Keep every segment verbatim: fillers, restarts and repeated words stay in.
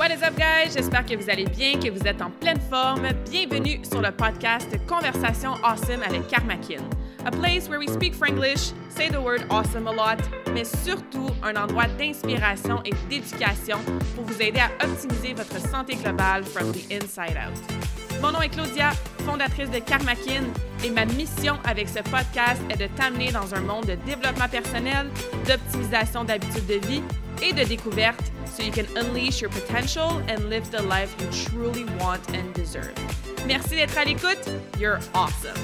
What is up, guys? J'espère que vous allez bien, que vous êtes en pleine forme. Bienvenue sur le podcast Conversation Awesome avec Karmakin. A place where we speak Franglish, say the word awesome a lot, mais surtout un endroit d'inspiration et d'éducation pour vous aider à optimiser votre santé globale from the inside out. Mon nom est Claudia, fondatrice de Karmakin, et ma mission avec ce podcast est de t'amener dans un monde de développement personnel, d'optimisation d'habitudes de vie et de découverte so you can unleash your potential and live the life you truly want and deserve. Merci d'être à l'écoute. You're awesome.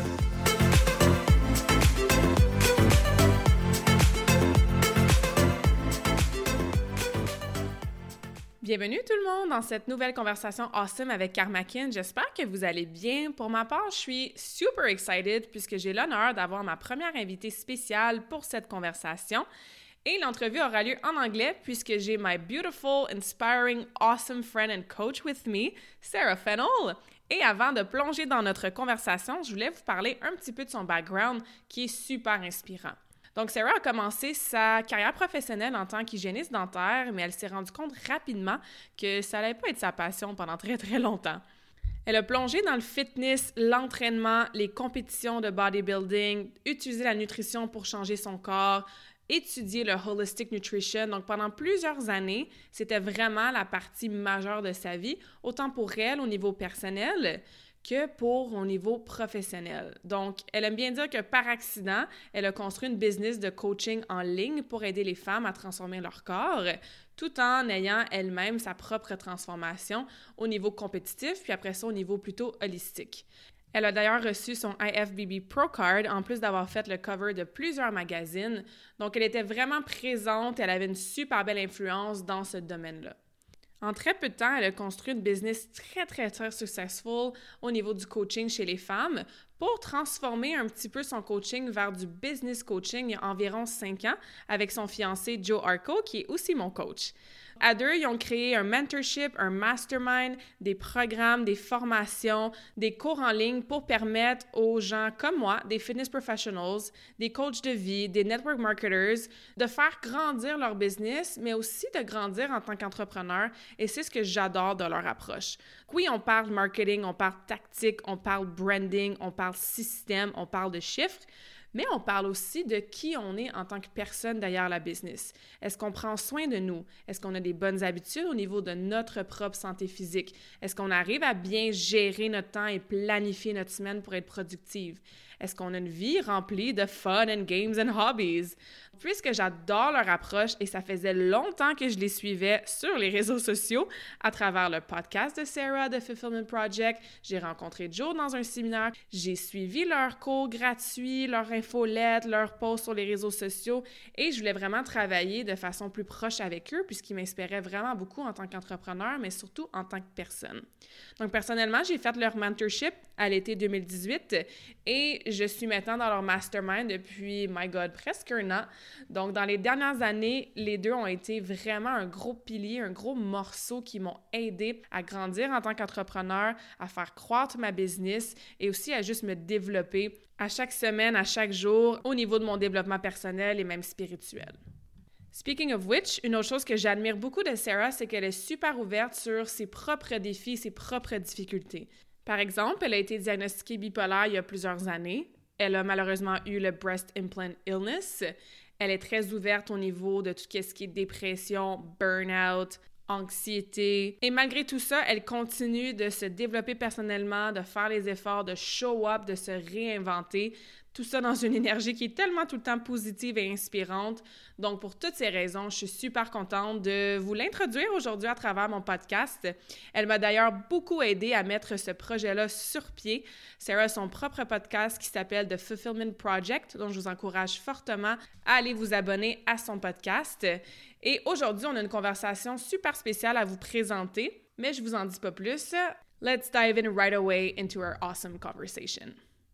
Bienvenue tout le monde dans cette nouvelle conversation awesome avec Karmakin. J'espère que vous allez bien. Pour ma part, je suis super excited puisque j'ai l'honneur d'avoir ma première invitée spéciale pour cette conversation. Et l'entrevue aura lieu en anglais puisque j'ai my beautiful, inspiring, awesome friend and coach with me, Sarah Fennell. Et avant de plonger dans notre conversation, je voulais vous parler un petit peu de son background qui est super inspirant. Donc, Sarah a commencé sa carrière professionnelle en tant qu'hygiéniste dentaire, mais elle s'est rendue compte rapidement que ça n'allait pas être sa passion pendant très, très longtemps. Elle a plongé dans le fitness, l'entraînement, les compétitions de bodybuilding, utilisé la nutrition pour changer son corps, étudier le holistic nutrition. Donc, pendant plusieurs années, c'était vraiment la partie majeure de sa vie, autant pour elle au niveau personnel que pour au niveau professionnel. Donc, elle aime bien dire que par accident, elle a construit une business de coaching en ligne pour aider les femmes à transformer leur corps, tout en ayant elle-même sa propre transformation au niveau compétitif, puis après ça, au niveau plutôt holistique. Elle a d'ailleurs reçu son I F B B Pro Card, en plus d'avoir fait le cover de plusieurs magazines. Donc, elle était vraiment présente et elle avait une super belle influence dans ce domaine-là. En très peu de temps, elle a construit une business très, très, très successful au niveau du coaching chez les femmes pour transformer un petit peu son coaching vers du business coaching il y a environ cinq ans avec son fiancé Joe Arco, qui est aussi mon coach. À deux, ils ont créé un mentorship, un mastermind, des programmes, des formations, des cours en ligne pour permettre aux gens comme moi, des fitness professionals, des coachs de vie, des network marketers, de faire grandir leur business, mais aussi de grandir en tant qu'entrepreneur. Et c'est ce que j'adore de leur approche. Oui, on parle marketing, on parle tactique, on parle branding, on parle système, on parle de chiffres, mais on parle aussi de qui on est en tant que personne derrière la business. Est-ce qu'on prend soin de nous? Est-ce qu'on a des bonnes habitudes au niveau de notre propre santé physique? Est-ce qu'on arrive à bien gérer notre temps et planifier notre semaine pour être productive? Est-ce qu'on a une vie remplie de fun and games and hobbies? Puisque j'adore leur approche et ça faisait longtemps que je les suivais sur les réseaux sociaux à travers le podcast de Sarah, The Fulfillment Project, j'ai rencontré Joe dans un séminaire, j'ai suivi leurs cours gratuits, leurs infolettes, leurs posts sur les réseaux sociaux et je voulais vraiment travailler de façon plus proche avec eux puisqu'ils m'inspiraient vraiment beaucoup en tant qu'entrepreneur, mais surtout en tant que personne. Donc personnellement, j'ai fait leur mentorship à l'été deux mille dix-huit et je suis maintenant dans leur mastermind depuis, my God, presque un an. Donc, dans les dernières années, les deux ont été vraiment un gros pilier, un gros morceau qui m'ont aidé à grandir en tant qu'entrepreneur, à faire croître ma business et aussi à juste me développer à chaque semaine, à chaque jour, au niveau de mon développement personnel et même spirituel. Speaking of which, une autre chose que j'admire beaucoup de Sarah, c'est qu'elle est super ouverte sur ses propres défis, ses propres difficultés. Par exemple, elle a été diagnostiquée bipolaire il y a plusieurs années. Elle a malheureusement eu le breast implant illness. Elle est très ouverte au niveau de tout ce qui est dépression, burn-out, anxiété. Et malgré tout ça, elle continue de se développer personnellement, de faire les efforts, de show up, de se réinventer. Tout ça dans une énergie qui est tellement tout le temps positive et inspirante. Donc, pour toutes ces raisons, je suis super contente de vous l'introduire aujourd'hui à travers mon podcast. Elle m'a d'ailleurs beaucoup aidé à mettre ce projet-là sur pied. Sarah a son propre podcast qui s'appelle The Fulfillment Project, dont je vous encourage fortement à aller vous abonner à son podcast. Et aujourd'hui, on a une conversation super spéciale à vous présenter, mais je vous en dis pas plus. Let's dive in right away into our awesome conversation.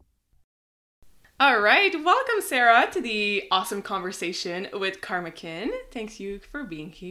All right, welcome Sarah to the awesome conversation with Karmakin. Thanks you for being here. Oh,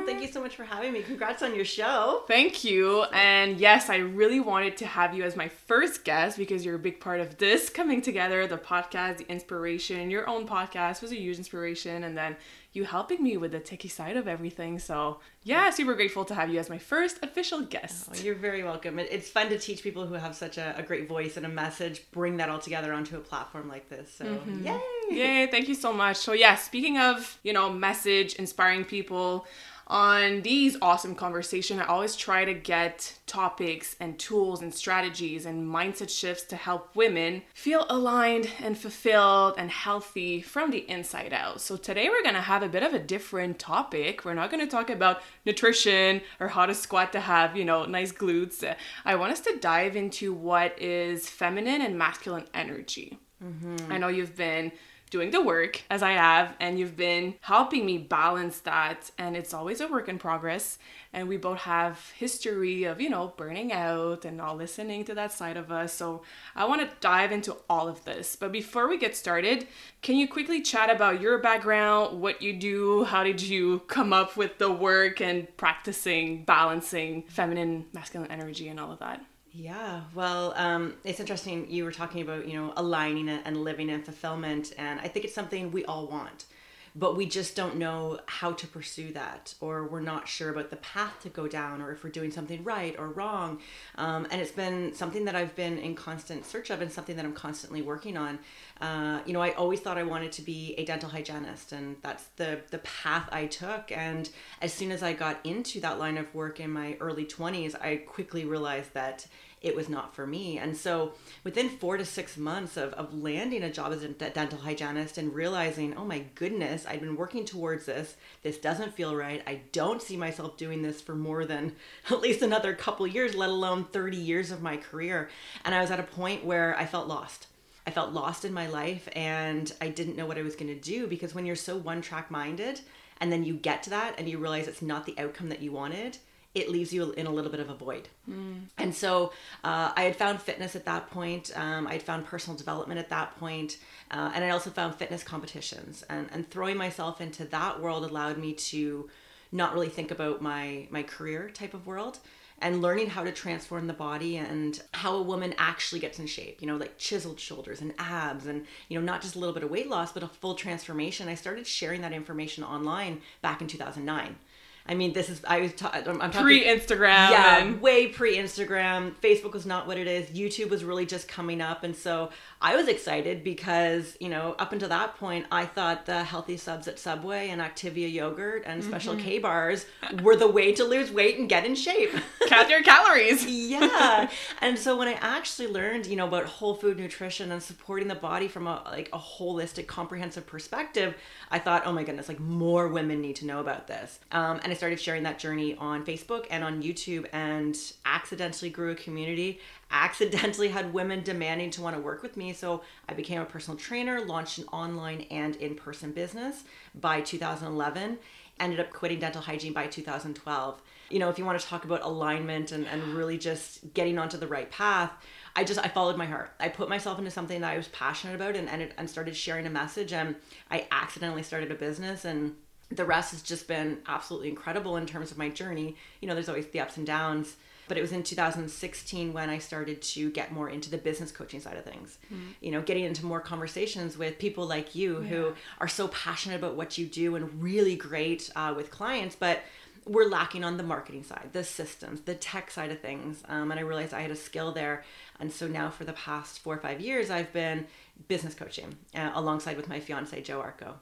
Oh, thank you so much for having me. Congrats on your show. Thank you. And yes, I really wanted to have you as my first guest because you're a big part of this coming together, the podcast, the inspiration. Your own podcast was a huge inspiration. And then you helping me with the techie side of everything. So yeah, super grateful to have you as my first official guest. Oh, you're very welcome. It, it's fun to teach people who have such a, a great voice and a message, bring that all together onto a platform like this. So mm-hmm. yay! Yay, thank you so much. So yeah, speaking of, you know, message, inspiring people, on these awesome conversations, I always try to get topics and tools and strategies and mindset shifts to help women feel aligned and fulfilled and healthy from the inside out. So today we're going to have a bit of a different topic. We're not going to talk about nutrition or how to squat to have, you know, nice glutes. I want us to dive into what is feminine and masculine energy. Mm-hmm. I know you've been doing the work as I have, and you've been helping me balance that, and it's always a work in progress. And we both have history of, you know, burning out and not listening to that side of us. So I want to dive into all of this. But before we get started, can you quickly chat about your background, what you do, how did you come up with the work and practicing balancing feminine, masculine energy and all of that? Yeah, well, um, it's interesting. You were talking about, you know, aligning and living in fulfillment. And I think it's something we all want, but we just don't know how to pursue that, or we're not sure about the path to go down, or if we're doing something right or wrong. Um, and it's been something that I've been in constant search of, and something that I'm constantly working on. Uh, you know, I always thought I wanted to be a dental hygienist, and that's the, the path I took. And as soon as I got into that line of work in my early twenties, I quickly realized that it was not for me. And so within four to six months of, of landing a job as a dental hygienist and realizing, oh my goodness, I've been working towards this. This doesn't feel right. I don't see myself doing this for more than at least another couple years, let alone thirty years of my career. And I was at a point where I felt lost. I felt lost in my life, and I didn't know what I was going to do, because when you're so one track minded and then you get to that and you realize it's not the outcome that you wanted, it leaves you in a little bit of a void. Mm. And so uh, I had found fitness at that point. Um, I had found personal development at that point. Uh, and I also found fitness competitions. And, and throwing myself into that world allowed me to not really think about my, my career type of world, and learning how to transform the body and how a woman actually gets in shape, you know, like chiseled shoulders and abs, and, you know, not just a little bit of weight loss, but a full transformation. I started sharing that information online back in two thousand nine. I mean, this is, I was, ta- I'm talking pre-Instagram. Yeah, and... way pre-Instagram. Facebook was not what it is. YouTube was really just coming up. And so I was excited because, you know, up until that point, I thought the healthy subs at Subway and Activia yogurt and Special mm-hmm. K bars were the way to lose weight and get in shape. Count your calories. Yeah. And so when I actually learned, you know, about whole food nutrition and supporting the body from a, like a holistic, comprehensive perspective, I thought, oh my goodness, like more women need to know about this. Um, and I started sharing that journey on Facebook and on YouTube, and accidentally grew a community, accidentally had women demanding to want to work with me. So I became a personal trainer, launched an online and in-person business by two thousand eleven, ended up quitting dental hygiene by two thousand twelve. You know, if you want to talk about alignment and, and really just getting onto the right path, I just, I followed my heart. I put myself into something that I was passionate about, and, and, it, and started sharing a message, and I accidentally started a business, and the rest has just been absolutely incredible in terms of my journey. You know, there's always the ups and downs, but it was in two thousand sixteen when I started to get more into the business coaching side of things. Mm-hmm. You know, getting into more conversations with people like you yeah. who are so passionate about what you do and really great uh, with clients, but we're lacking on the marketing side, the systems, the tech side of things. Um, and I realized I had a skill there. And so now for the past four or five years, I've been business coaching uh, alongside with my fiance, Joe Arco.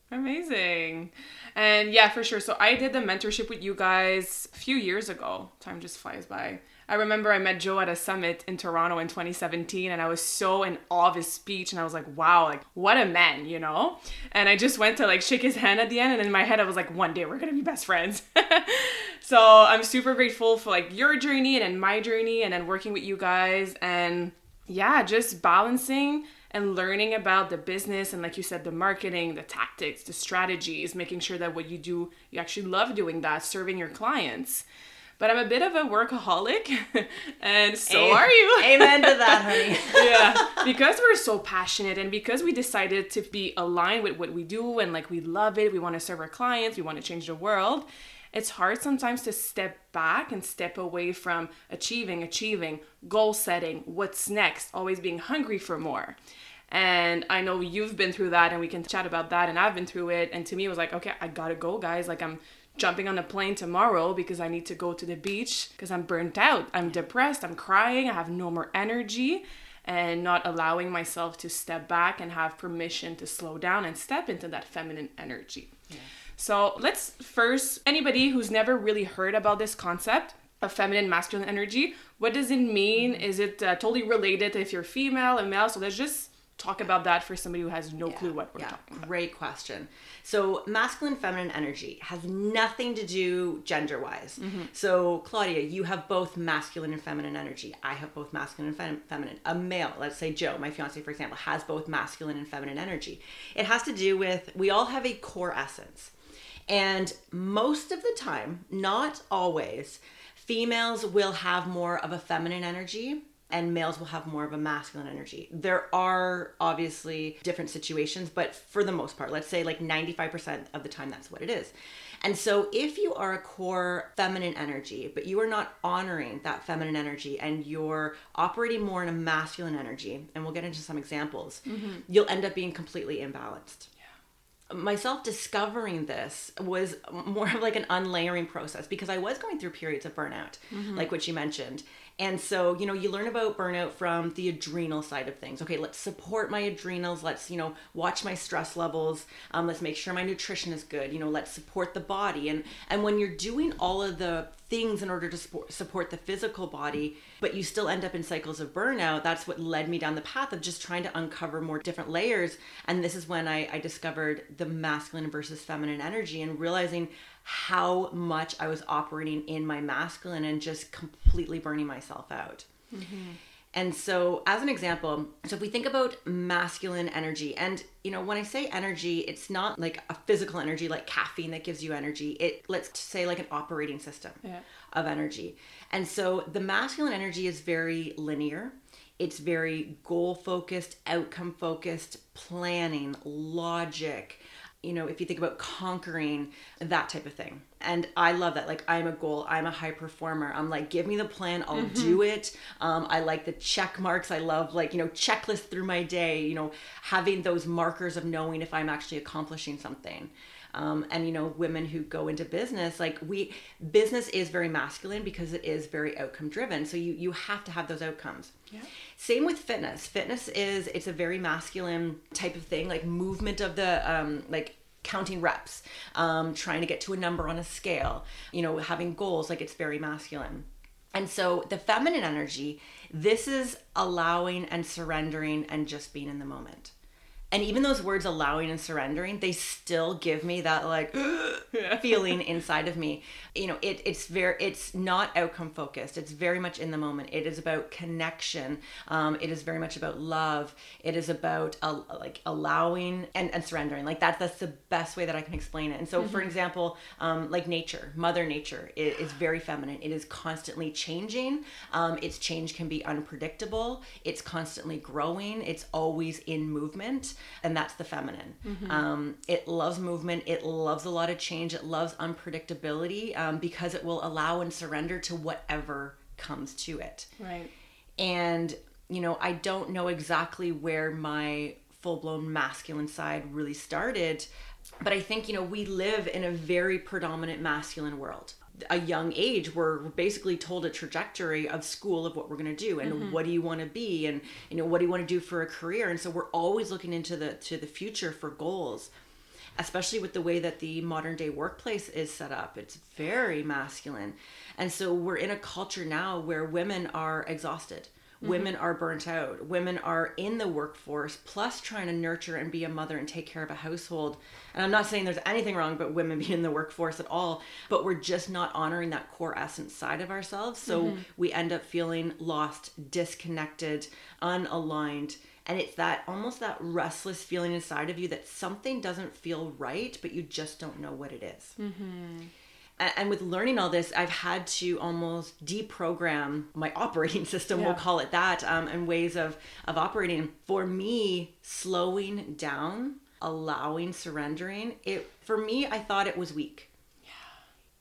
Amazing. And yeah, for sure. So I did the mentorship with you guys a few years ago. Time just flies by. I remember I met Joe at a summit in Toronto in twenty seventeen, and I was so in awe of his speech, and I was like, wow, like what a man, you know? And I just went to like shake his hand at the end, and in my head I was like, one day we're gonna be best friends. So I'm super grateful for like your journey and then my journey, and then working with you guys, and yeah, just balancing and learning about the business and, like you said, the marketing, the tactics, the strategies, making sure that what you do, you actually love doing that, serving your clients. But I'm a bit of a workaholic, and so Amen. are you. Amen to that, honey. Yeah, because we're so passionate, and because we decided to be aligned with what we do, and like we love it, we want to serve our clients, we want to change the world. it's hard sometimes to step back and step away from achieving, achieving, goal setting, what's next, always being hungry for more. And I know you've been through that, and we can chat about that, and I've been through it. And to me, it was like, okay, I gotta go, guys. Like, I'm jumping on a plane tomorrow because I need to go to the beach because I'm burnt out. I'm depressed. I'm crying. I have no more energy, and not allowing myself to step back and have permission to slow down and step into that feminine energy. Yeah. So let's first, anybody who's never really heard about this concept of feminine, masculine energy, what does it mean? Mm-hmm. Is it uh, totally related if you're female and male? So let's just talk about that for somebody who has no yeah, clue what we're yeah, talking about. Great question. So masculine, feminine energy has nothing to do gender-wise. Mm-hmm. So Claudia, you have both masculine and feminine energy. I have both masculine and fem- feminine. A male, let's say Joe, my fiance, for example, has both masculine and feminine energy. It has to do with, we all have a core essence. And most of the time, not always, females will have more of a feminine energy and males will have more of a masculine energy. There are obviously different situations, but for the most part, let's say like ninety-five percent of the time, that's what it is. And so if you are a core feminine energy, but you are not honoring that feminine energy and you're operating more in a masculine energy, and we'll get into some examples, mm-hmm. you'll end up being completely imbalanced. Myself discovering this was more of like an unlayering process because I was going through periods of burnout, mm-hmm. like what you mentioned. And so, you know, you learn about burnout from the adrenal side of things. Okay, let's support my adrenals. Let's, you know, watch my stress levels. Um, let's make sure my nutrition is good. You know, let's support the body. And and when you're doing all of the things in order to support, support the physical body, but you still end up in cycles of burnout, that's what led me down the path of just trying to uncover more different layers. And this is when I, I discovered the masculine versus feminine energy and realizing how much I was operating in my masculine and just completely burning myself out. Mm-hmm. And so as an example, so if we think about masculine energy, and you know, when I say energy, it's not like a physical energy like caffeine that gives you energy. It, let's say, like an operating system yeah. of energy. And so the masculine energy is very linear. It's very goal focused, outcome focused, planning, logic. You know, if you think about conquering, that type of thing. And I love that. Like, I'm a goal. I'm a high performer. I'm like, give me the plan. I'll mm-hmm. do it. Um, I like the check marks. I love, like, you know, checklist through my day, you know, having those markers of knowing if I'm actually accomplishing something. Um, and, you know, women who go into business, like we, business is very masculine because it is very outcome driven. So you, you have to have those outcomes. Yeah. Same with fitness. Fitness is, it's a very masculine type of thing, like movement of the, um, like counting reps, um, trying to get to a number on a scale, you know, having goals, like it's very masculine. And so the feminine energy, this is allowing and surrendering and just being in the moment. And even those words allowing and surrendering, they still give me that like feeling inside of me. You know, it, it's very, it's not outcome focused. It's very much in the moment. It is about connection. Um, it is very much about love. It is about uh, like allowing and, and surrendering. Like that's, that's the best way that I can explain it. And so mm-hmm. for example, um, like nature, Mother Nature is, is very feminine. It is constantly changing. Um, its change can be unpredictable. It's constantly growing. It's always in movement. And that's the feminine. Mm-hmm. Um, it loves movement. It loves a lot of change. It loves unpredictability um, because it will allow and surrender to whatever comes to it. Right. And, you know, I don't know exactly where my full-blown masculine side really started, but I think, you know, we live in a very predominant masculine world. A young age, we're basically told a trajectory of school of what we're going to do and mm-hmm. what do you want to be and you know what do you want to do for a career, and so we're always looking into the to the future for goals, especially with the way that the modern day workplace is set up. It's very masculine, and so we're in a culture now where women are exhausted. Mm-hmm. Women are burnt out. Women are in the workforce, plus trying to nurture and be a mother and take care of a household. And I'm not saying there's anything wrong about women being in the workforce at all, but we're just not honoring that core essence side of ourselves. So mm-hmm. we end up feeling lost, disconnected, unaligned. And it's that almost that restless feeling inside of you that something doesn't feel right, but you just don't know what it is. Mm-hmm. And with learning all this, I've had to almost deprogram my operating system, yeah. we'll call it that, um, and ways of, of operating. For me, slowing down, allowing, surrendering, it for me, I thought it was weak. Yeah.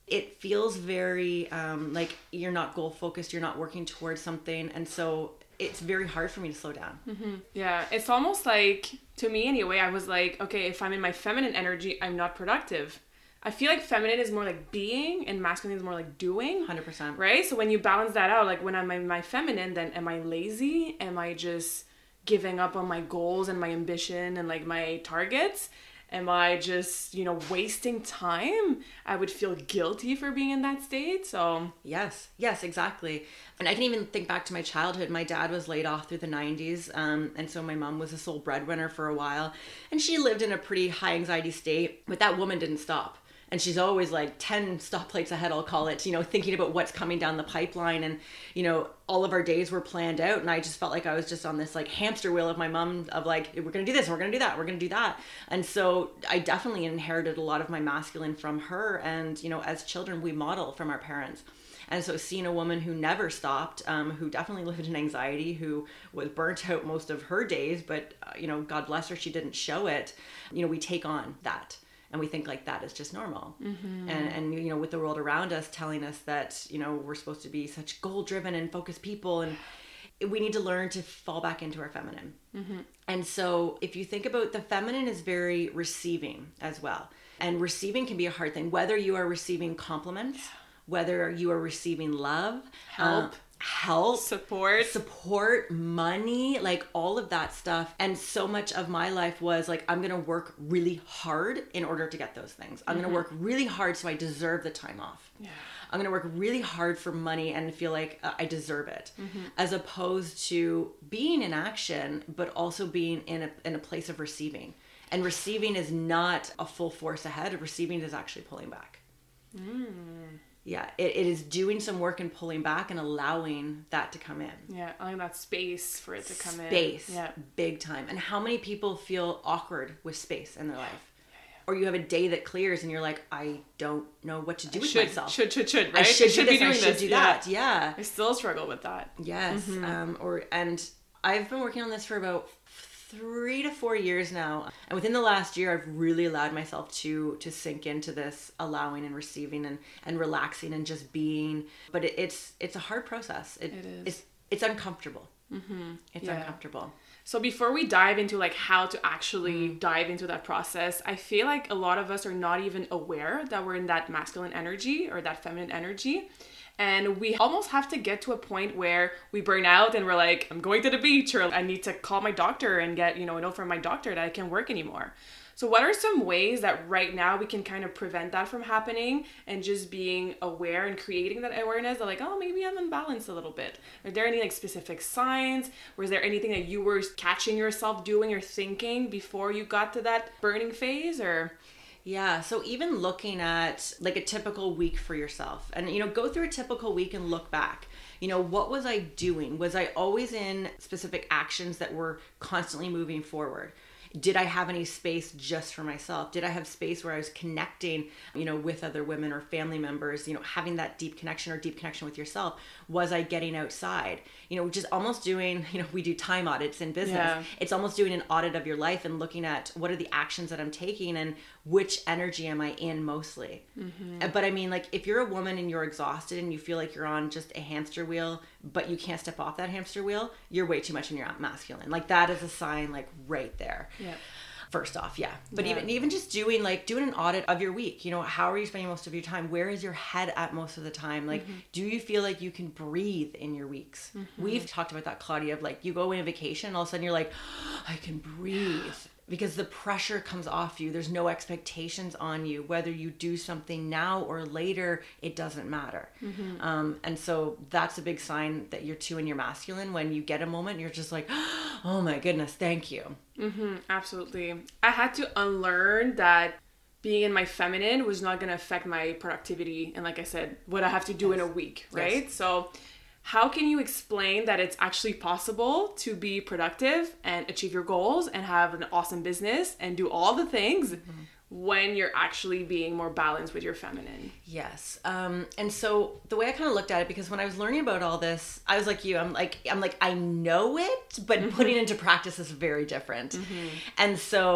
it feels very um, like you're not goal focused, you're not working towards something. And so it's very hard for me to slow down. Mm-hmm. Yeah, it's almost like, to me anyway, I was like, okay, if I'm in my feminine energy, I'm not productive. I feel like feminine is more like being and masculine is more like doing. one hundred percent. Right? So when you balance that out, like when I'm in my feminine, then am I lazy? Am I just giving up on my goals and my ambition and like my targets? Am I just, you know, wasting time? I would feel guilty for being in that state. So yes, yes, exactly. And I can even think back to my childhood. My dad was laid off through the nineties. Um, and so my mom was the sole breadwinner for a while. And she lived in a pretty high anxiety state. But that woman didn't stop. And she's always like ten stoplights ahead, I'll call it, you know, thinking about what's coming down the pipeline. And, you know, all of our days were planned out. And I just felt like I was just on this like hamster wheel of my mom of like, we're going to do this, we're going to do that, we're going to do that. And so I definitely inherited a lot of my masculine from her. And, you know, as children, we model from our parents. And so seeing a woman who never stopped, um, who definitely lived in anxiety, who was burnt out most of her days, but, uh, you know, God bless her, she didn't show it. You know, we take on that. And we think like that is just normal. Mm-hmm. And, and, you know, with the world around us telling us that, you know, we're supposed to be such goal driven and focused people. And we need to learn to fall back into our feminine. Mm-hmm. And so if you think about the feminine is very receiving as well. And receiving can be a hard thing, whether you are receiving compliments, whether you are receiving love, help, uh, help, support, support, money, like all of that stuff. And so much of my life was like, I'm going to work really hard in order to get those things. I'm mm-hmm. going to work really hard so I deserve the time off. Yeah. I'm going to work really hard for money and feel like uh, I deserve it. Mm-hmm. As opposed to being in action, but also being in a, in a place of receiving. And receiving is not a full force ahead. Receiving is actually pulling back. Mm. Yeah, it, it is doing some work and pulling back and allowing that to come in. Yeah, allowing that space for it to come space, in. Space, yeah. Big time. And how many people feel awkward with space in their life? Yeah, yeah. Or you have a day that clears and you're like, I don't know what to do I with should, myself. Should, should, should, right? I should, I should do be this, doing I should this. do yeah. that. Yeah. I still struggle with that. Yes. Mm-hmm. Um, or and I've been working on this for about three to four years now. And within the last year, I've really allowed myself to to sink into this allowing and receiving and, and relaxing and just being. But it, it's it's a hard process. It, it is. It's, it's uncomfortable. Mm-hmm. It's yeah. uncomfortable. So before we dive into like how to actually mm. dive into that process, I feel like a lot of us are not even aware that we're in that masculine energy or that feminine energy. And we almost have to get to a point where we burn out and we're like, I'm going to the beach, or I need to call my doctor and get, you know, a note from my doctor that I can't work anymore. So what are some ways that right now we can kind of prevent that from happening and just being aware and creating that awareness that like, oh, maybe I'm unbalanced a little bit? Are there any like specific signs? Or is there anything that you were catching yourself doing or thinking before you got to that burning phase? Or... Yeah, so even looking at like a typical week for yourself and, you know, go through a typical week and look back. You know, what was I doing? Was I always in specific actions that were constantly moving forward? Did I have any space just for myself? Did I have space where I was connecting, you know, with other women or family members, you know, having that deep connection or deep connection with yourself? Was I getting outside? You know, just almost doing, you know, we do time audits in business. Yeah. It's almost doing an audit of your life and looking at what are the actions that I'm taking and which energy am I in mostly. Mm-hmm. But I mean, like if you're a woman and you're exhausted and you feel like you're on just a hamster wheel, but you can't step off that hamster wheel, you're way too much in your masculine. Like that is a sign like right there. Yeah. First off, yeah. But yeah. even even just doing like doing an audit of your week, you know, how are you spending most of your time? Where is your head at most of the time? Like, mm-hmm. do you feel like you can breathe in your weeks? Mm-hmm. We've talked about that, Claudia, of like you go away on vacation, all of a sudden you're like, oh, I can breathe. Because the pressure comes off you. There's no expectations on you. Whether you do something now or later, it doesn't matter. Mm-hmm. Um, and so that's a big sign that you're too in your masculine. When you get a moment, you're just like, oh my goodness, thank you. Mm-hmm, absolutely. I had to unlearn that being in my feminine was not going to affect my productivity. And like I said, what I have to do yes. in a week, right? Yes. So how can you explain that it's actually possible to be productive and achieve your goals and have an awesome business and do all the things mm-hmm. when you're actually being more balanced with your feminine? Yes. Um, and so the way I kind of looked at it, because when I was learning about all this, I was like you, I'm like, I'm like, I know it, but mm-hmm. putting it into practice is very different. Mm-hmm. And so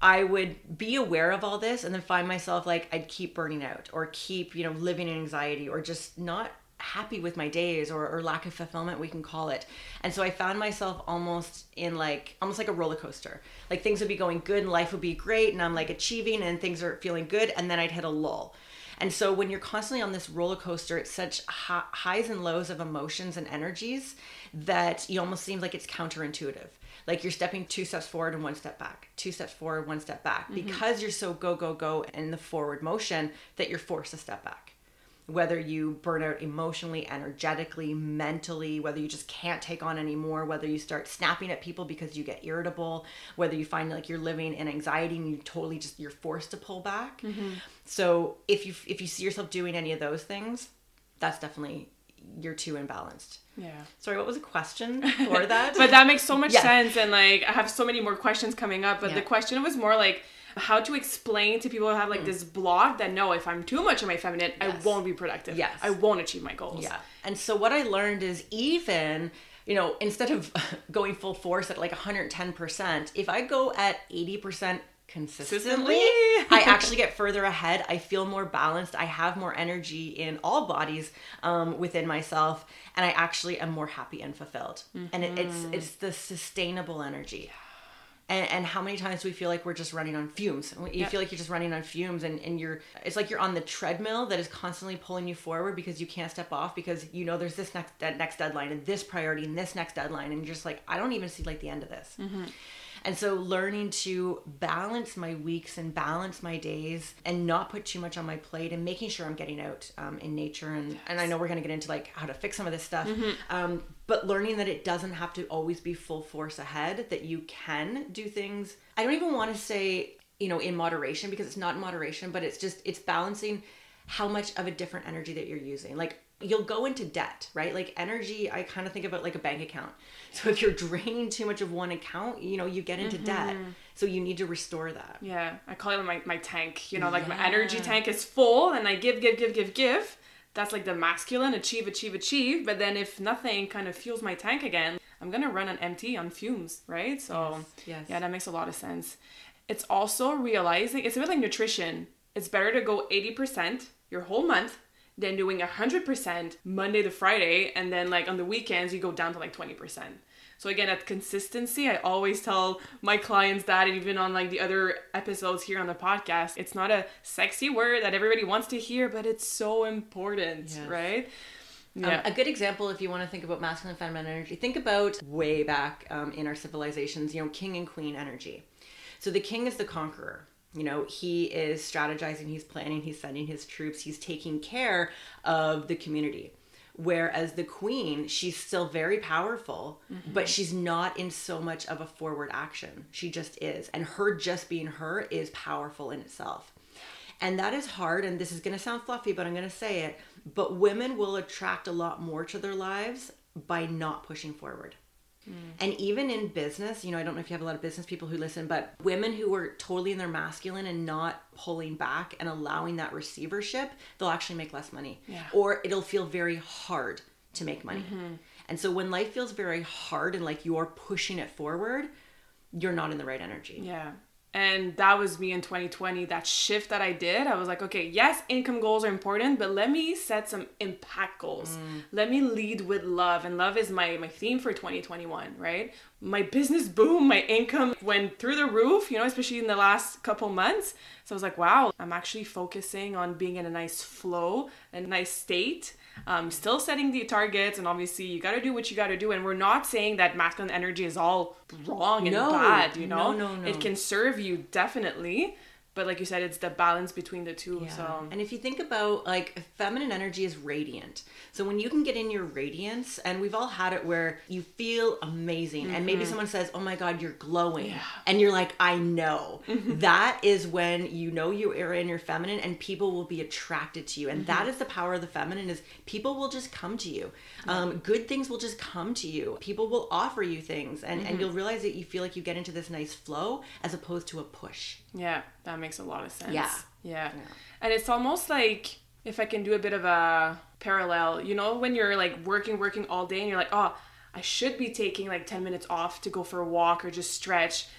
I would be aware of all this and then find myself like I'd keep burning out or keep, you know, living in anxiety or just not happy with my days or, or lack of fulfillment, we can call it. And so I found myself almost in like, almost like a roller coaster. Like things would be going good and life would be great and I'm like achieving and things are feeling good. And then I'd hit a lull. And so when you're constantly on this roller coaster, it's such hi- highs and lows of emotions and energies that you almost seem like it's counterintuitive. Like you're stepping two steps forward and one step back, two steps forward, one step back, mm-hmm. because you're so go, go, go in the forward motion that you're forced to step back. Whether you burn out emotionally, energetically, mentally, whether you just can't take on anymore, whether you start snapping at people because you get irritable, whether you find like you're living in anxiety and you totally just, you're forced to pull back. Mm-hmm. So if you if you see yourself doing any of those things, that's definitely, you're too imbalanced. Yeah. Sorry, what was the question for that? But that makes so much yes. sense. And like, I have so many more questions coming up, but yeah. the question was more like, how to explain to people who have like mm. this block that no, if I'm too much of my feminine, yes. I won't be productive. Yes. I won't achieve my goals. Yeah. And so what I learned is even, you know, instead of going full force at like one hundred ten percent, if I go at eighty percent consistently, I actually get further ahead. I feel more balanced. I have more energy in all bodies um, within myself. And I actually am more happy and fulfilled. Mm-hmm. And it, it's it's the sustainable energy. And, and how many times do we feel like we're just running on fumes? You yep. feel like you're just running on fumes and, and you're, it's like you're on the treadmill that is constantly pulling you forward because you can't step off because you know there's this next that next deadline and this priority and this next deadline. And you're just like, I don't even see like the end of this. Mm-hmm. And so learning to balance my weeks and balance my days and not put too much on my plate and making sure I'm getting out um, in nature. And, yes. and I know we're going to get into like how to fix some of this stuff. Mm-hmm. Um, but learning that it doesn't have to always be full force ahead, that you can do things. I don't even want to say, you know, in moderation because it's not in moderation, but it's just, it's balancing how much of a different energy that you're using. Like, you'll go into debt, right? Like energy, I kind of think about like a bank account. So if you're draining too much of one account, you know, you get into mm-hmm. debt. So you need to restore that. Yeah. I call it my, my tank, you know, like yeah. my energy tank is full and I give, give, give, give, give. That's like the masculine, achieve, achieve, achieve. But then if nothing kind of fuels my tank again, I'm going to run on empty, on fumes, right? So yes. Yes. yeah, that makes a lot of sense. It's also realizing, it's a bit like nutrition. It's better to go eighty percent your whole month than doing one hundred percent Monday to Friday, and then like on the weekends you go down to like twenty percent. So again, that consistency, I always tell my clients that, and even on like the other episodes here on the podcast, it's not a sexy word that everybody wants to hear, but it's so important, yes. right? Yeah. Um, a good example, if you want to think about masculine and feminine energy, think about way back um, in our civilizations, you know, king and queen energy. So the king is the conqueror. You know, he is strategizing, he's planning, he's sending his troops, he's taking care of the community. Whereas the queen, she's still very powerful, mm-hmm. but she's not in so much of a forward action. She just is. And her just being her is powerful in itself. And that is hard. And this is going to sound fluffy, but I'm going to say it. But women will attract a lot more to their lives by not pushing forward. Mm. And even in business, you know, I don't know if you have a lot of business people who listen, but women who are totally in their masculine and not pulling back and allowing that receivership, they'll actually make less money. Yeah. Or it'll feel very hard to make money. Mm-hmm. And so when life feels very hard and like you're pushing it forward, you're not in the right energy. Yeah. And that was me in twenty twenty, that shift that I did. I was like, okay, yes, income goals are important, but let me set some impact goals. Mm. Let me lead with love. And love is my, my theme for twenty twenty-one, right? My business boomed, my income went through the roof, you know, especially in the last couple months. So I was like, wow, I'm actually focusing on being in a nice flow, a nice state. Um, still setting the targets, and obviously you got to do what you got to do. And we're not saying that masculine energy is all wrong and no, bad, you know, no, no, no. It can serve you definitely. But like you said, it's the balance between the two. Yeah. So, and if you think about like feminine energy is radiant. So when you can get in your radiance, and we've all had it where you feel amazing, mm-hmm. and maybe someone says, "Oh my God, you're glowing," yeah. and you're like, "I know." Mm-hmm. That is when you know you are in your feminine, and people will be attracted to you. And mm-hmm. that is the power of the feminine: is people will just come to you. Yeah. Um, good things will just come to you. People will offer you things, and mm-hmm. and you'll realize that you feel like you get into this nice flow as opposed to a push. Yeah, that makes a lot of sense. Yeah. yeah. Yeah. And it's almost like, if I can do a bit of a parallel, you know, when you're like working, working all day and you're like, oh, I should be taking like ten minutes off to go for a walk or just stretch.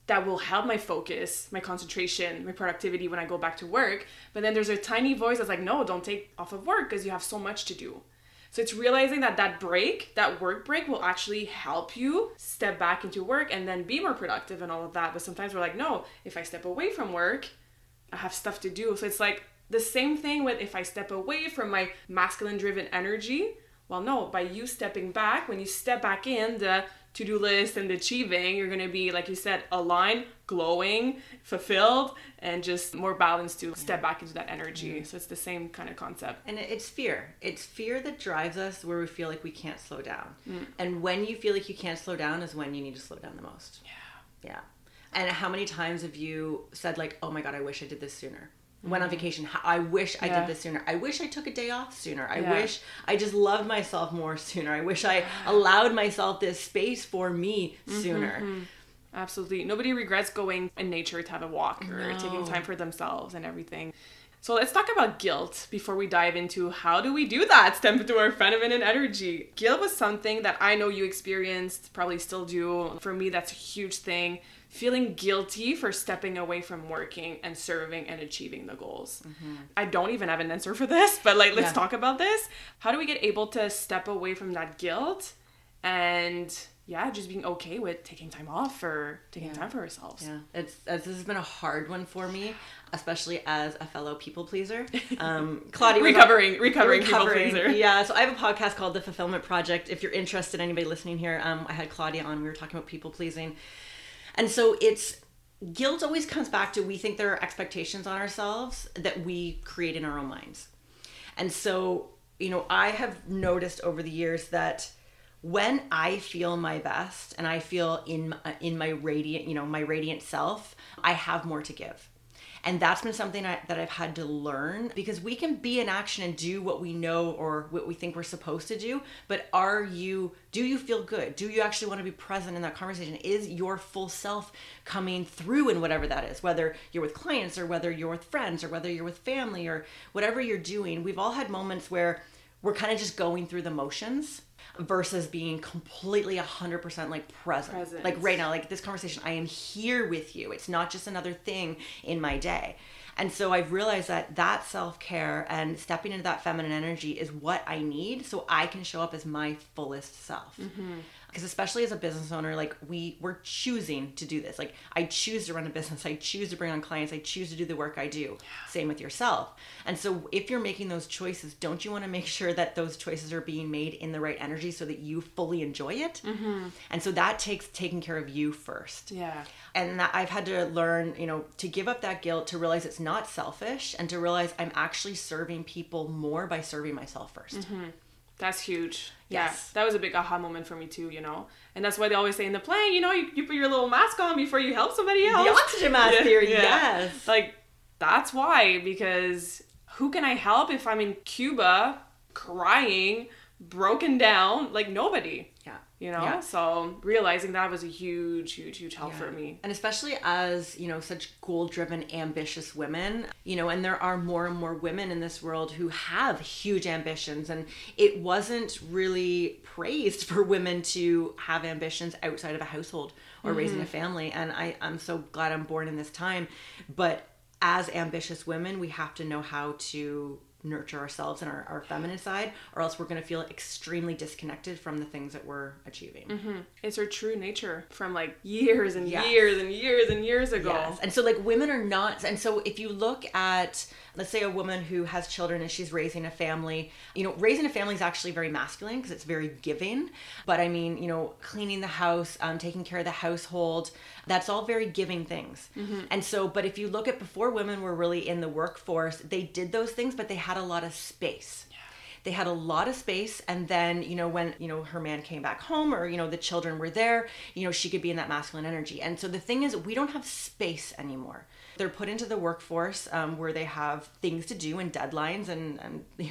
that will help my focus, my concentration, my productivity when I go back to work. But then there's a tiny voice that's like, no, don't take off of work because you have so much to do. So it's realizing that that break, that work break will actually help you step back into work and then be more productive and all of that. But sometimes we're like, no, if I step away from work, I have stuff to do. So it's like the same thing with if I step away from my masculine driven energy. Well, no, by you stepping back, when you step back in the to-do list and the achieving, you're going to be, like you said, aligned, glowing, fulfilled, and just more balanced to step back into that energy. Mm-hmm. So it's the same kind of concept. And it's fear. It's fear that drives us where we feel like we can't slow down. Mm. And when you feel like you can't slow down is when you need to slow down the most. Yeah. Yeah. And how many times have you said like, oh my God, I wish I did this sooner? Went on vacation. I wish I yeah. did this sooner. I wish I took a day off sooner. I yeah. wish I just loved myself more sooner. I wish I allowed myself this space for me sooner. Mm-hmm. Absolutely. Nobody regrets going in nature to have a walk or no. taking time for themselves and everything. So let's talk about guilt before we dive into how do we do that, step into our feminine energy. Guilt was something that I know you experienced, probably still do. For me, that's a huge thing. Feeling guilty for stepping away from working and serving and achieving the goals. Mm-hmm. I don't even have an answer for this, but like, let's yeah. talk about this. How do we get able to step away from that guilt and yeah, just being okay with taking time off or taking yeah. time for ourselves? Yeah, it's, it's this has been a hard one for me, especially as a fellow people pleaser. Um, Claudia, recovering, recovering, recovering people pleaser. Yeah, so I have a podcast called The Fulfillment Project. If you're interested, anybody listening here, um, I had Claudia on. We were talking about people pleasing. And so it's, guilt always comes back to, we think there are expectations on ourselves that we create in our own minds. And so, you know, I have noticed over the years that when I feel my best and I feel in, in my radiant, you know, my radiant self, I have more to give. And that's been something I, that I've had to learn, because we can be in action and do what we know or what we think we're supposed to do. But are you, do you feel good? Do you actually want to be present in that conversation? Is your full self coming through in whatever that is, whether you're with clients or whether you're with friends or whether you're with family or whatever you're doing? We've all had moments where we're kind of just going through the motions versus being completely one hundred percent like present. Presence. Like right now, like this conversation, I am here with you. It's not just another thing in my day. And so I've realized that that self-care and stepping into that feminine energy is what I need so I can show up as my fullest self. Mm-hmm. Because especially as a business owner, like we, we're choosing to do this. Like I choose to run a business. I choose to bring on clients. I choose to do the work I do. Yeah. Same with yourself. And so if you're making those choices, don't you want to make sure that those choices are being made in the right energy so that you fully enjoy it? Mm-hmm. And so that takes taking care of you first. Yeah. And that I've had to learn, you know, to give up that guilt, to realize it's not selfish, and to realize I'm actually serving people more by serving myself first. Mm-hmm. That's huge. Yes. Yeah, that was a big aha moment for me too, you know? And that's why they always say in the plane, you know, you, you put your little mask on before you help somebody else. The oxygen mask yeah, theory, yeah. yes. Like, that's why, because who can I help if I'm in Cuba crying, broken down? Like, nobody. Yeah. You know, yeah. so realizing that was a huge, huge, huge help yeah. for me. And especially as, you know, such goal-driven, ambitious women, you know, and there are more and more women in this world who have huge ambitions. And it wasn't really praised for women to have ambitions outside of a household or mm-hmm. raising a family. And I, I'm so glad I'm born in this time. But as ambitious women, we have to know how to nurture ourselves and our, our feminine side, or else we're going to feel extremely disconnected from the things that we're achieving. Mm-hmm. It's our true nature from like years and yes. years and years and years ago. Yes. And so like women are not, and so if you look at, let's say a woman who has children and she's raising a family, you know, raising a family is actually very masculine because it's very giving. But I mean, you know, cleaning the house, um, taking care of the household, that's all very giving things. Mm-hmm. And so, but if you look at before women were really in the workforce, they did those things, but they had a lot of space. Yeah. They had a lot of space. And then, you know, when, you know, her man came back home or, you know, the children were there, you know, she could be in that masculine energy. And so the thing is, we don't have space anymore. They're put into the workforce um, where they have things to do and deadlines and, and, you know,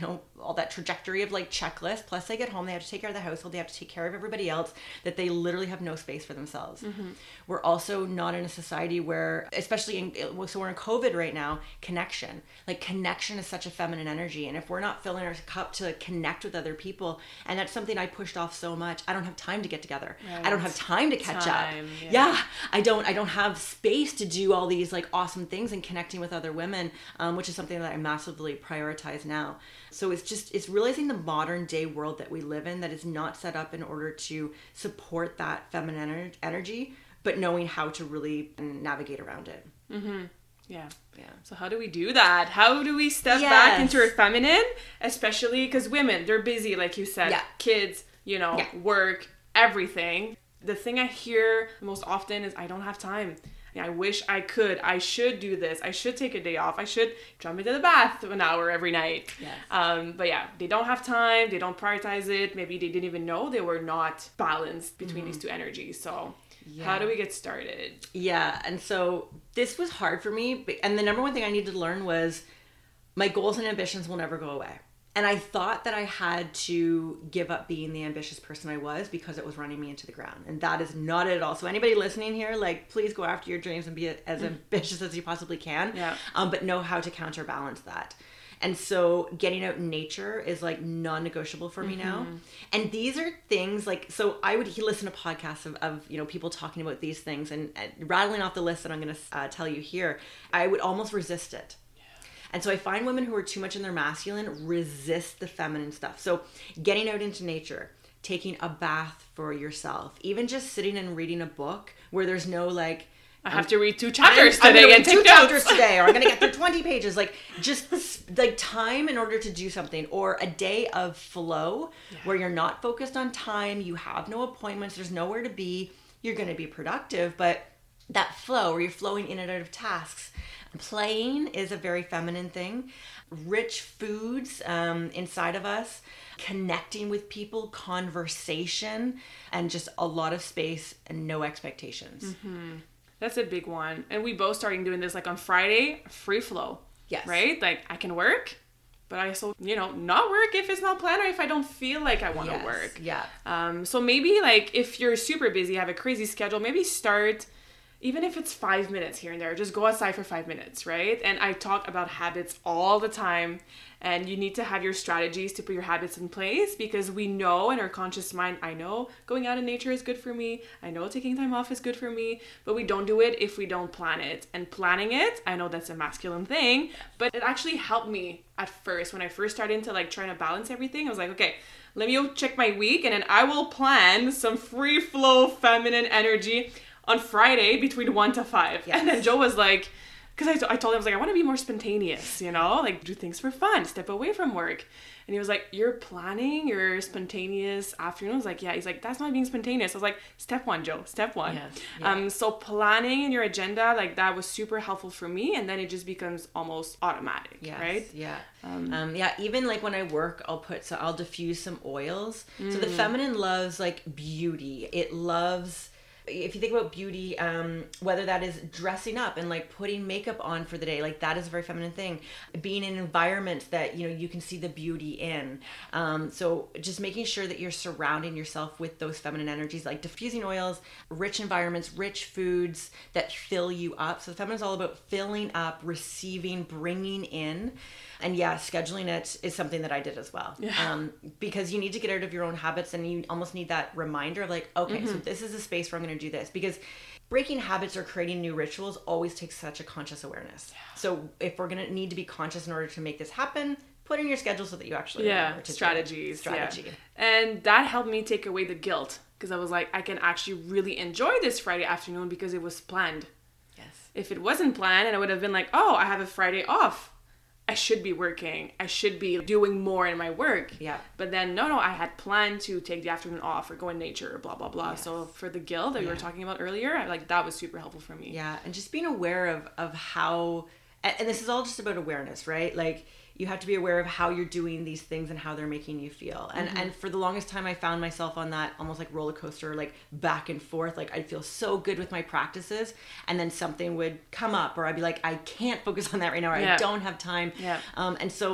all that trajectory of like checklist. Plus they get home, they have to take care of the household, they have to take care of everybody else, that they literally have no space for themselves. Mm-hmm. We're also not in a society where, especially in, so we're in COVID right now, connection. Like connection is such a feminine energy. And if we're not filling our cup to connect with other people, and that's something I pushed off so much, I don't have time to get together. Right. I don't have time to catch time, up. Yeah. yeah. I don't, I don't have space to do all these like awesome things and connecting with other women, um, which is something that I massively prioritize now. So it's just, it's realizing the modern day world that we live in that is not set up in order to support that feminine ener- energy, but knowing how to really navigate around it. Mm-hmm. Yeah. Yeah. So how do we do that? How do we step yes. back into our feminine? Especially because women, they're busy, like you said, yeah. kids, you know, yeah. work, everything. The thing I hear most often is, I don't have time. I wish I could. I should do this. I should take a day off. I should jump into the bath an hour every night. Yes. Um, but yeah, they don't have time. They don't prioritize it. Maybe they didn't even know they were not balanced between mm-hmm. these two energies. So yeah. how do we get started? Yeah. And so this was hard for me. And the number one thing I needed to learn was my goals and ambitions will never go away. And I thought that I had to give up being the ambitious person I was because it was running me into the ground. And that is not it at all. So anybody listening here, like, please go after your dreams and be as mm. ambitious as you possibly can. Yeah. Um, but know how to counterbalance that. And so getting out in nature is like non-negotiable for me mm-hmm. now. And these are things like, so I would listen to podcasts of, of you know, people talking about these things and, and rattling off the list that I'm going to uh, tell you here. I would almost resist it. And so I find women who are too much in their masculine resist the feminine stuff. So getting out into nature, taking a bath for yourself, even just sitting and reading a book where there's no like, I have to read two chapters I'm, today I'm and two take chapters notes. today, or I'm going to get through twenty pages. Like just like time in order to do something, or a day of flow yeah. where you're not focused on time. You have no appointments. There's nowhere to be. You're going to be productive, but that flow where you're flowing in and out of tasks. Playing is a very feminine thing. Rich foods um, inside of us, connecting with people, conversation, and just a lot of space and no expectations. Mm-hmm. That's a big one. And we both starting doing this like on Friday, free flow. Yes. Right? Like I can work, but I also, you know, not work if it's not planned or if I don't feel like I want to yes. work. Yeah. Um. So maybe like if you're super busy, have a crazy schedule, maybe start... Even if it's five minutes here and there, just go outside for five minutes, right? And I talk about habits all the time, and you need to have your strategies to put your habits in place because we know in our conscious mind, I know going out in nature is good for me. I know taking time off is good for me, but we don't do it if we don't plan it. And planning it, I know that's a masculine thing, but it actually helped me at first. When I first started into like trying to balance everything, I was like, okay, let me go check my week and then I will plan some free flow feminine energy on Friday between one to five. Yes. And then Joe was like, because I, t- I told him, I was like, I want to be more spontaneous, you know, like do things for fun, step away from work. And he was like, you're planning your spontaneous afternoon? I was like, yeah. He's like, that's not being spontaneous. I was like, step one, Joe, step one. Yes. Yeah. Um, so planning in your agenda, like that was super helpful for me. And then it just becomes almost automatic, yes. right? Yeah. Um, um, yeah. Even like when I work, I'll put, so I'll diffuse some oils. Mm. So the feminine loves like beauty. It loves... If you think about beauty, um, whether that is dressing up and like putting makeup on for the day, like that is a very feminine thing. Being in environments that, you know, you can see the beauty in. Um, so just making sure that you're surrounding yourself with those feminine energies, like diffusing oils, rich environments, rich foods that fill you up. So the feminine is all about filling up, receiving, bringing in. And yeah, scheduling it is something that I did as well. Yeah. Um, because you need to get out of your own habits and you almost need that reminder of like, okay, mm-hmm. so this is a space where I'm going to do this. Because breaking habits or creating new rituals always takes such a conscious awareness. Yeah. So if we're going to need to be conscious in order to make this happen, put in your schedule so that you actually yeah, remember to strategies. Strategy. Yeah. And that helped me take away the guilt because I was like, I can actually really enjoy this Friday afternoon because it was planned. Yes. If it wasn't planned and I would have been like, oh, I have a Friday off. I should be working. I should be doing more in my work. Yeah. But then, no, no, I had planned to take the afternoon off or go in nature, blah, blah, blah. Yes. So for the guilt that yeah. we were talking about earlier, I, like that was super helpful for me. Yeah. And just being aware of, of how, and, and this is all just about awareness, right? Like you have to be aware of how you're doing these things and how they're making you feel. And mm-hmm. and for the longest time, I found myself on that almost like roller coaster, like back and forth. Like I'd feel so good with my practices and then something would come up or I'd be like, I can't focus on that right now. Or yeah. I don't have time. Yeah. Um, and so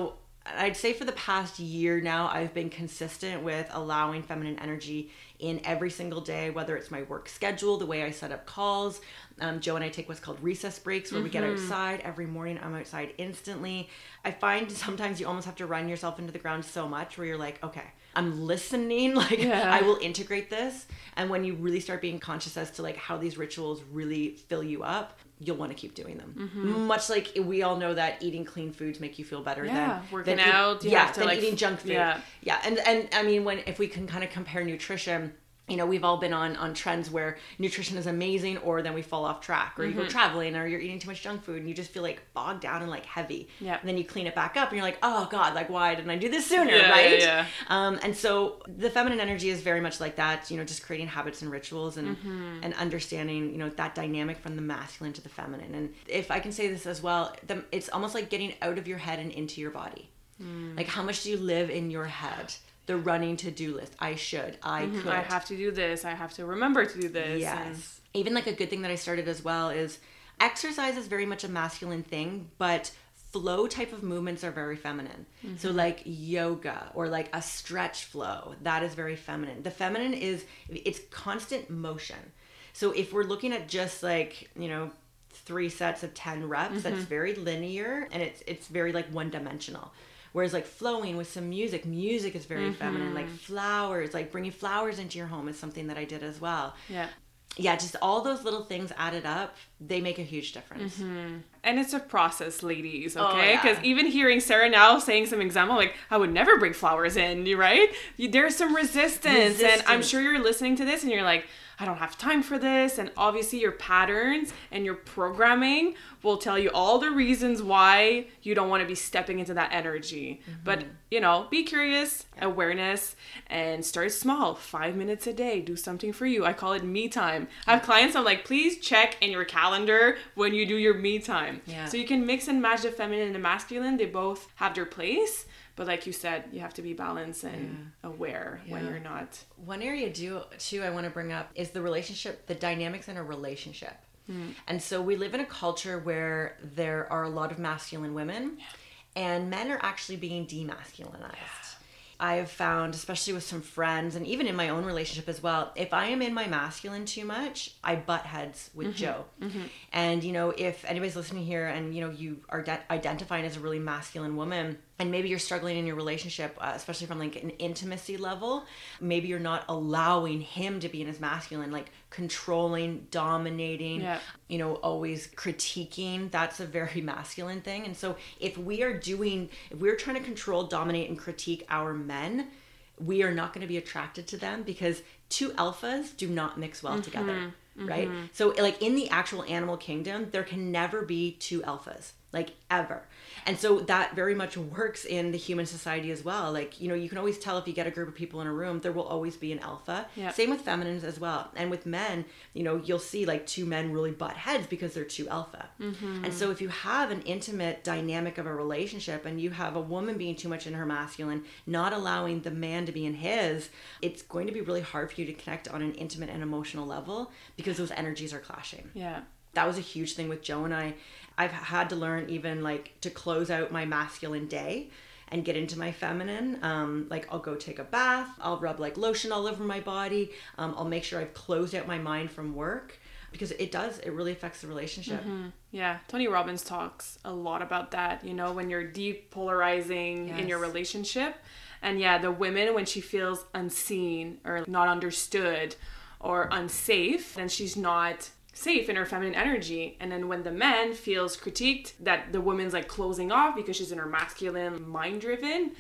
I'd say for the past year now, I've been consistent with allowing feminine energy in every single day, whether it's my work schedule, the way I set up calls. Um, Joe and I take what's called recess breaks, where mm-hmm. we get outside every morning. I'm outside instantly. I find sometimes you almost have to run yourself into the ground so much where you're like, okay, I'm listening. Like yeah. I will integrate this. And when you really start being conscious as to like how these rituals really fill you up, you'll want to keep doing them. Mm-hmm. Much like we all know that eating clean foods make you feel better yeah, than working than out. Eat, You yeah, have to than like, eating junk food. Yeah, yeah. And and I mean, when if we can kind of compare nutrition. You know, we've all been on, on trends where nutrition is amazing, or then we fall off track, or mm-hmm. you go traveling, or you're eating too much junk food and you just feel like bogged down and like heavy. Yeah. And then you clean it back up and you're like, oh God, like why didn't I do this sooner? Yeah, right? Yeah, yeah. Um, and so the feminine energy is very much like that, you know, just creating habits and rituals and, mm-hmm. and understanding, you know, that dynamic from the masculine to the feminine. And if I can say this as well, the, it's almost like getting out of your head and into your body. Mm. Like how much do you live in your head? The running to-do list. I should. I mm-hmm. could. I have to do this. I have to remember to do this. Yes. And... Even like a good thing that I started as well is exercise is very much a masculine thing, but flow type of movements are very feminine. Mm-hmm. So like yoga or like a stretch flow, that is very feminine. The feminine is, it's constant motion. So if we're looking at just like, you know, three sets of ten reps, mm-hmm. that's very linear and it's it's very like one dimensional. Whereas like flowing with some music, music is very mm-hmm. feminine. Like flowers, like bringing flowers into your home is something that I did as well. Yeah. Yeah, just all those little things added up, they make a huge difference. Mm-hmm. And it's a process, ladies, okay? Because oh, yeah. even hearing Sarah now saying some example, like, I would never bring flowers in, right? There's some resistance, resistance. And I'm sure you're listening to this and you're like, I don't have time for this. And obviously your patterns and your programming will tell you all the reasons why you don't want to be stepping into that energy. Mm-hmm. But, you know, be curious, yeah. awareness, and start small. Five minutes a day. Do something for you. I call it me time. I have clients, I'm like, please check in your calendar when you do your me time. Yeah. So you can mix and match the feminine and the masculine. They both have their place. But like you said, you have to be balanced and yeah. aware yeah. when you're not. One area do, too I want to bring up is the relationship, the dynamics in a relationship. Mm. And so we live in a culture where there are a lot of masculine women yeah. and men are actually being demasculinized. Yeah. I have found, especially with some friends and even in my own relationship as well, if I am in my masculine too much, I butt heads with mm-hmm. Joe. Mm-hmm. And, you know, if anybody's listening here and, you know, you are de- identifying as a really masculine woman, and maybe you're struggling in your relationship, uh, especially from like an intimacy level, maybe you're not allowing him to be in his masculine, like controlling, dominating, yeah. you know, always critiquing. That's a very masculine thing. And so if we are doing, if we're trying to control, dominate, and critique our men, we are not going to be attracted to them because two alphas do not mix well mm-hmm. together, right? Mm-hmm. So like in the actual animal kingdom, there can never be two alphas. Like ever. And so that very much works in the human society as well. Like, you know, you can always tell if you get a group of people in a room, there will always be an alpha. Yep. Same with feminines as well. And with men, you know, you'll see like two men really butt heads because they're too alpha. Mm-hmm. And so if you have an intimate dynamic of a relationship and you have a woman being too much in her masculine, not allowing the man to be in his, it's going to be really hard for you to connect on an intimate and emotional level because those energies are clashing. Yeah. That was a huge thing with Joe and I. I've had to learn even like to close out my masculine day and get into my feminine. Um, like I'll go take a bath. I'll rub like lotion all over my body. Um, I'll make sure I've closed out my mind from work because it does, it really affects the relationship. Mm-hmm. Yeah. Tony Robbins talks a lot about that, you know, when you're depolarizing yes. in your relationship. And yeah, the women, when she feels unseen or not understood or unsafe, then she's not safe in her feminine energy. And then when the man feels critiqued that the woman's like closing off because she's in her masculine, mind driven,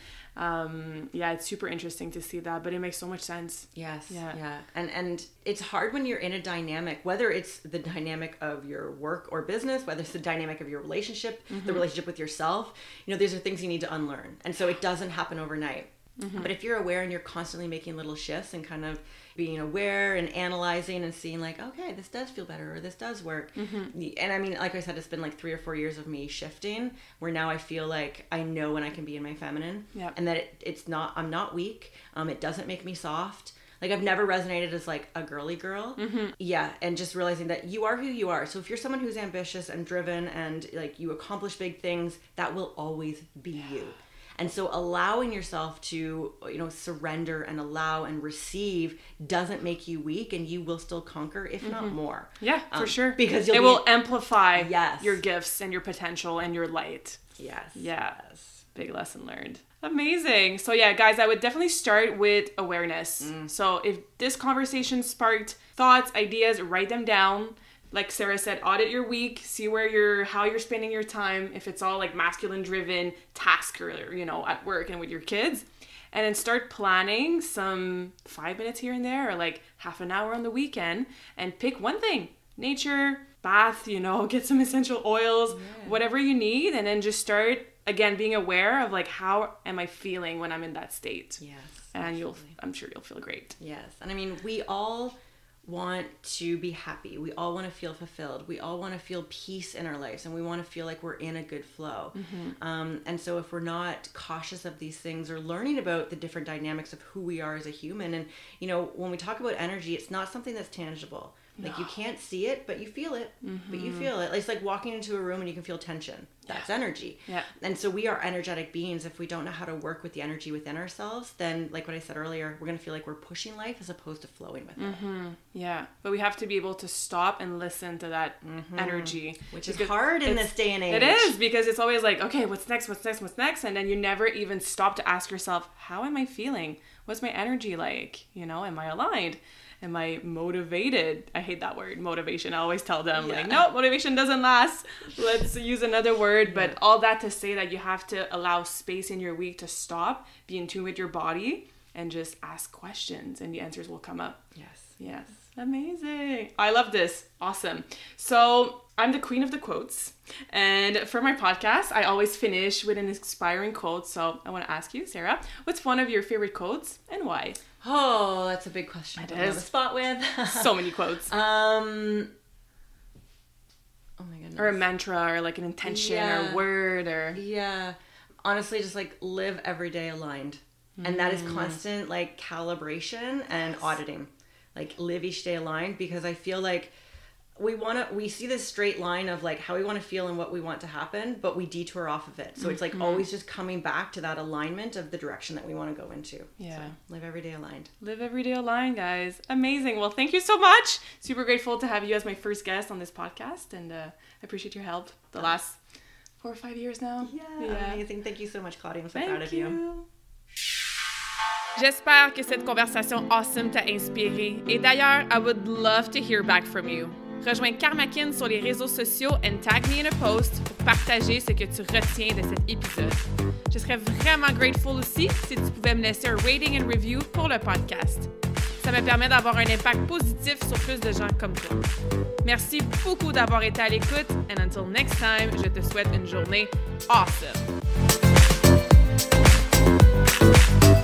um yeah, it's super interesting to see that, but it makes so much sense. Yes. Yeah. Yeah. And and it's hard when you're in a dynamic, whether it's the dynamic of your work or business, whether it's the dynamic of your relationship, mm-hmm. the relationship with yourself, you know, these are things you need to unlearn. And so it doesn't happen overnight. Mm-hmm. But if you're aware and you're constantly making little shifts and kind of being aware and analyzing and seeing like, okay, this does feel better or this does work. Mm-hmm. And I mean, like I said, it's been like three or four years of me shifting where now I feel like I know when I can be in my feminine yep. and that it, it's not, I'm not weak. Um, it doesn't make me soft. Like I've never resonated as like a girly girl. Mm-hmm. Yeah. And just realizing that you are who you are. So if you're someone who's ambitious and driven and like you accomplish big things, that will always be you. And so allowing yourself to, you know, surrender and allow and receive doesn't make you weak, and you will still conquer, if mm-hmm. not more. Yeah, um, for sure. Because it be, will amplify yes. your gifts and your potential and your light. Yes. Yes. Big lesson learned. Amazing. So yeah, guys, I would definitely start with awareness. Mm. So if this conversation sparked thoughts, ideas, write them down. Like Sarah said, audit your week, see where you're, how you're spending your time. If it's all like masculine driven task or, you know, at work and with your kids, and then start planning some five minutes here and there, or like half an hour on the weekend, and pick one thing, nature, bath, you know, get some essential oils, yeah. whatever you need. And then just start again, being aware of like, how am I feeling when I'm in that state? Yes. And absolutely. you'll, I'm sure you'll feel great. Yes. And I mean, we all want to be happy. We all want to feel fulfilled. We all want to feel peace in our lives, and we want to feel like we're in a good flow. Mm-hmm. Um, and so if we're not cautious of these things, or learning about the different dynamics of who we are as a human, and, you know, when we talk about energy, it's not something that's tangible. Like, no. you can't see it, but you feel it. Mm-hmm. But you feel it. It's like walking into a room and you can feel tension. That's yeah. energy. Yeah. And so we are energetic beings. If we don't know how to work with the energy within ourselves, then, like what I said earlier, we're going to feel like we're pushing life as opposed to flowing with mm-hmm. it. Yeah. But we have to be able to stop and listen to that mm-hmm. energy. Which is hard in this day and age. It is, because it's always like, okay, what's next? What's next? What's next? And then you never even stop to ask yourself, how am I feeling? What's my energy like? You know, am I aligned? Am I motivated? I hate that word, motivation. I always tell them, yeah. like, no, motivation doesn't last. Let's use another word. Yeah. But all that to say that you have to allow space in your week to stop, be in tune with your body, and just ask questions, and the answers will come up. Yes. Yes. Amazing. I love this. Awesome. So I'm the queen of the quotes. And for my podcast, I always finish with an inspiring quote. So I want to ask you, Sarah, what's one of your favorite quotes and why? Oh, that's a big question. It to is. Have a spot with. So many quotes. Um. Oh my goodness. Or a mantra, or like an intention, yeah. or word, or yeah. Honestly, just like live every day aligned, mm. and that is constant like calibration and yes. auditing. Like live each day aligned, because I feel like we want to, we see this straight line of like how we want to feel and what we want to happen, but we detour off of it. So mm-hmm. it's like always just coming back to that alignment of the direction that we want to go into. Yeah. So live every day aligned. Live every day aligned, guys. Amazing. Well, thank you so much. Super grateful to have you as my first guest on this podcast, and uh, I appreciate your help the last four or five years now. Yeah, yeah. Amazing. Thank you so much, Claudia. I'm so thank proud of you. you. J'espère que cette conversation awesome t'a inspiré. Et d'ailleurs, I would love to hear back from you. Rejoins Karmakin sur les réseaux sociaux and tag me in a post pour partager ce que tu retiens de cet épisode. Je serais vraiment grateful aussi si tu pouvais me laisser un rating and review pour le podcast. Ça me permet d'avoir un impact positif sur plus de gens comme toi. Merci beaucoup d'avoir été à l'écoute, and until next time, je te souhaite une journée awesome.